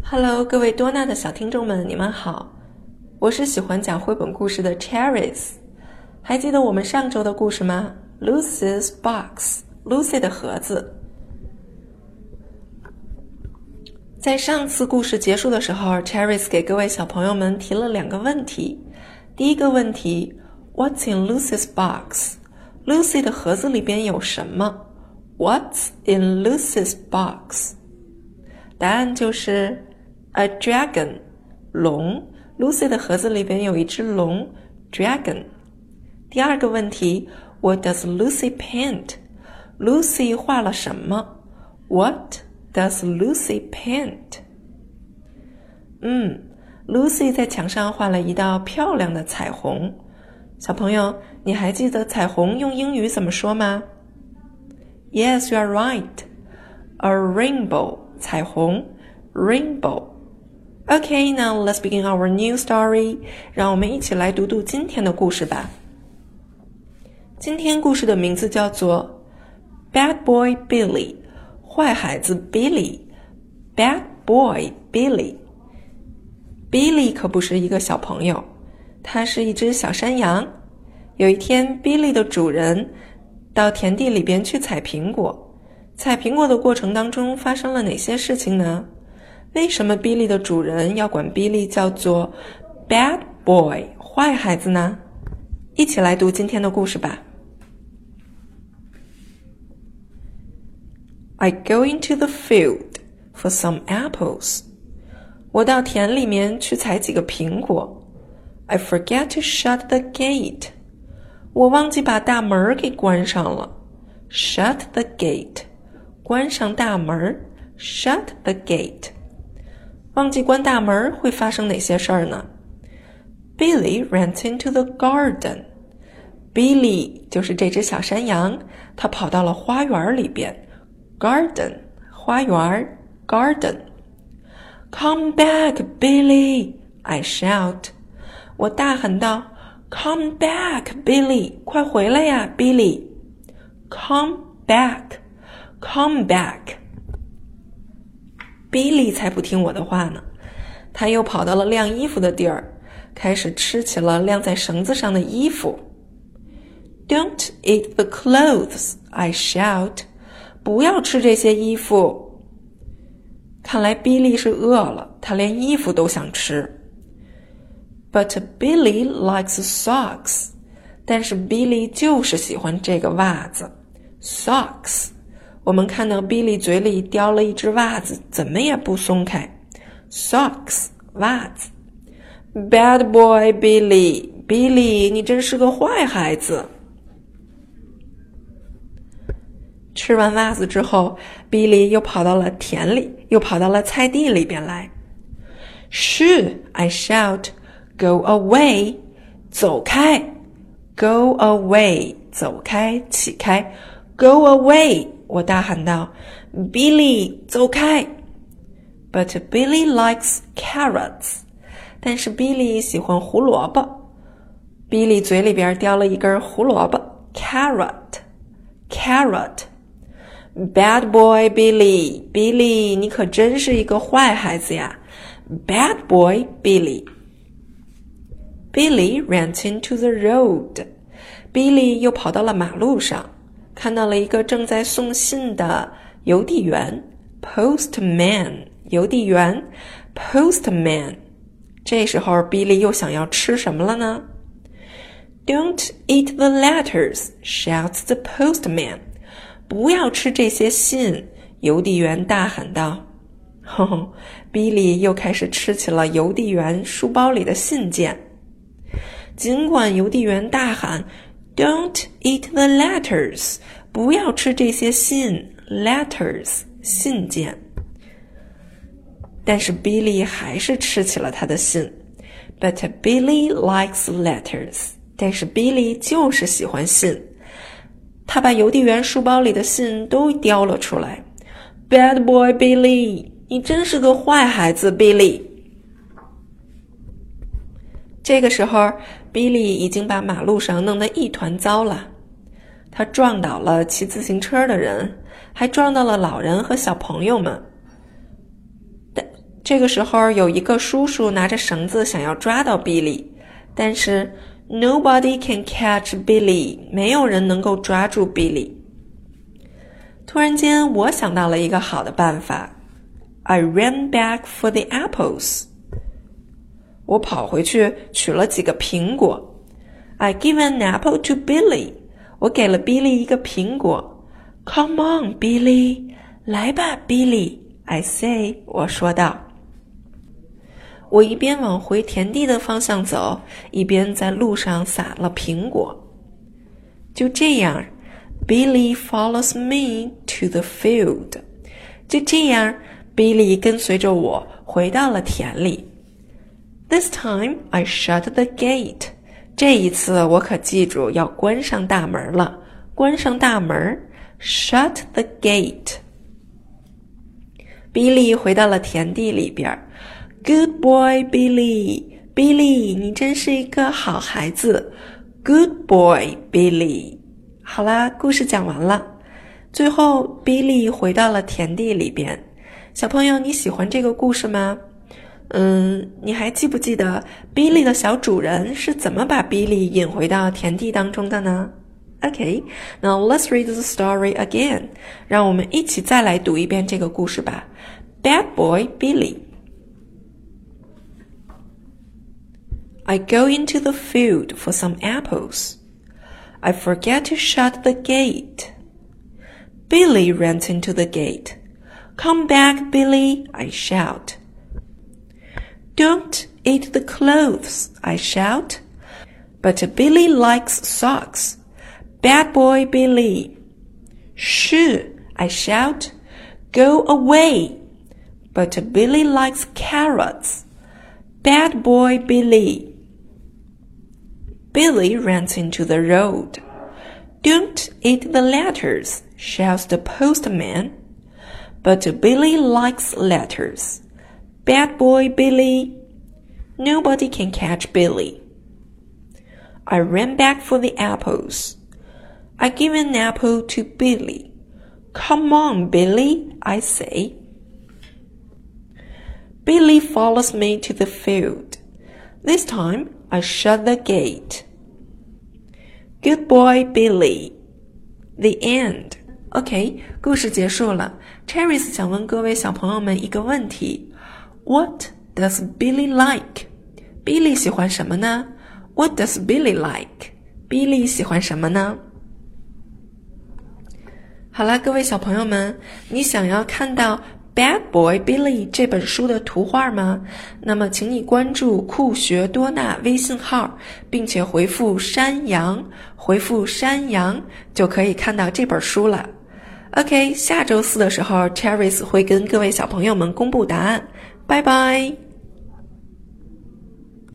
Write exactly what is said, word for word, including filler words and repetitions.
Hello， 各位多纳的小听众们，你们好，我是喜欢讲绘本故事的 Cherries。还记得我们上周的故事吗？ Lucy's Box， Lucy 的盒子。在上次故事结束的时候 Cherries 给各位小朋友们提了两个问题。第一个问题 What's in Lucy's box？ Lucy 的盒子里边有什么？ What's in Lucy's box？ 答案就是A dragon， 龙。Lucy 的盒子里边有一只龙 Dragon。 第二个问题 What does Lucy paint？ Lucy 画了什么？ What does Lucy paint？ 嗯 Lucy 在墙上画了一道漂亮的彩虹。小朋友，你还记得彩虹用英语怎么说吗？ Yes, you are right. A rainbow， 彩虹 Rainbow。Okay, now let's begin our new story. 让我们一起来读读今天的故事吧。今天故事的名字叫做 Bad Boy Billy， 坏孩子 Billy。 Bad Boy Billy。 Billy 可不是一个小朋友，他是一只小山羊。有一天 Billy 的主人到田地里边去采苹果。采苹果的过程当中发生了哪些事情呢？为什么 Billy 的主人要管 Billy 叫做 Bad Boy， 坏孩子呢？一起来读今天的故事吧。 I go into the field for some apples. 我到田里面去采几个苹果。 I forget to shut the gate. 我忘记把大门给关上了。 Shut the gate. 关上大门 Shut the gate。忘记关大门会发生哪些事儿呢？ Billy ran into the garden. Billy 就是这只小山羊，他跑到了花园里边。 Garden 花园 Garden。 Come back, Billy, I shout. 我大喊道 Come back, Billy, 快回来呀 Billy。 Come back, come back。Billy 才不听我的话呢，他又跑到了晾衣服的地儿，开始吃起了晾在绳子上的衣服。 Don't eat the clothes, I shout. 不要吃这些衣服。看来 Billy 是饿了，他连衣服都想吃。 But Billy likes socks. 但是 Billy 就是喜欢这个袜子 Socks。我们看到 Billy 嘴里叼了一只袜子，怎么也不松开。 Socks 袜子。 Bad boy Billy Billy 你真是个坏孩子。吃完袜子之后 Billy 又跑到了田里，又跑到了菜地里边来。 Shoo, I shout. Go away. 走开 Go away 走开起开 Go away我大喊道 Billy 走开。 But Billy likes carrots. 但是 Billy 喜欢胡萝卜。 Billy 嘴里边叼了一根胡萝卜 Carrot Carrot。 Bad boy Billy Billy 你可真是一个坏孩子呀 Bad boy Billy。 Billy ran into the road. Billy 又跑到了马路上，看到了一个正在送信的邮递员 Postman 邮递员 Postman。 这时候 Billy 又想要吃什么了呢？ Don't eat the letters, shouts the postman. 不要吃这些信，邮递员大喊道。呵呵 Billy 又开始吃起了邮递员书包里的信件。尽管邮递员大喊 Don't eat the letters， 不要吃这些信 Letters 信件，但是 Billy 还是吃起了他的信。 But Billy likes letters， 但是 Billy 就是喜欢信。他把邮递员书包里的信都叼了出来。 Bad boy Billy， 你真是个坏孩子 Billy。 这个时候 Billy 已经把马路上弄得一团糟了。他撞倒了骑自行车的人，还撞到了老人和小朋友们。但这个时候有一个叔叔拿着绳子想要抓到 Billy， 但是 Nobody can catch Billy， 没有人能够抓住 Billy。 突然间我想到了一个好的办法， I ran back for the apples， 我跑回去取了几个苹果。 I give an apple to Billy， 我给了 Billy 一个苹果。 Come on Billy， 来吧 Billy， I say， 我说道。我一边往回田地的方向走，一边在路上撒了苹果。就这样 Billy follows me to the field， 就这样 Billy 跟随着我回到了田里。 This time I shut the gate， 这一次我可记住要关上大门了，关上大门 Shut the gate。 Billy 回到了田地里边。Good boy, Billy. Billy, 你真是一个好孩子。Good boy, Billy. 好啦，故事讲完了。最后 Billy 回到了田地里边。小朋友，你喜欢这个故事吗？嗯，你还记不记得 Billy 的小主人是怎么把 Billy 引回到田地当中的呢？ Okay, now let's read the story again. 让我们一起再来读一遍这个故事吧。Bad boy, Billy.I go into the field for some apples. I forget to shut the gate. Billy runs into the gate. Come back, Billy, I shout. Don't eat the clothes, I shout. But Billy likes socks. Bad boy, Billy. Shoo, I shout. Go away. But Billy likes carrots. Bad boy, Billy.Billy runs into the road. Don't eat the letters, shouts the postman. But Billy likes letters. Bad boy Billy. Nobody can catch Billy. I ran back for the apples. I give an apple to Billy. Come on, Billy, I say. Billy follows me to the field. This time,I shut the gate. Good boy, Billy. The end. OK, 故事结束了。Cherries 想问各位小朋友们一个问题。What does Billy like? Billy 喜欢什么呢？ What does Billy like? Billy 喜欢什么呢？好了，各位小朋友们，你想要看到Bad Boy Billy 这本书的图画吗？那么请你关注酷学多纳微信号，并且回复山羊，回复山羊就可以看到这本书了。OK， 下周四的时候 Cherries 会跟各位小朋友们公布答案。拜拜。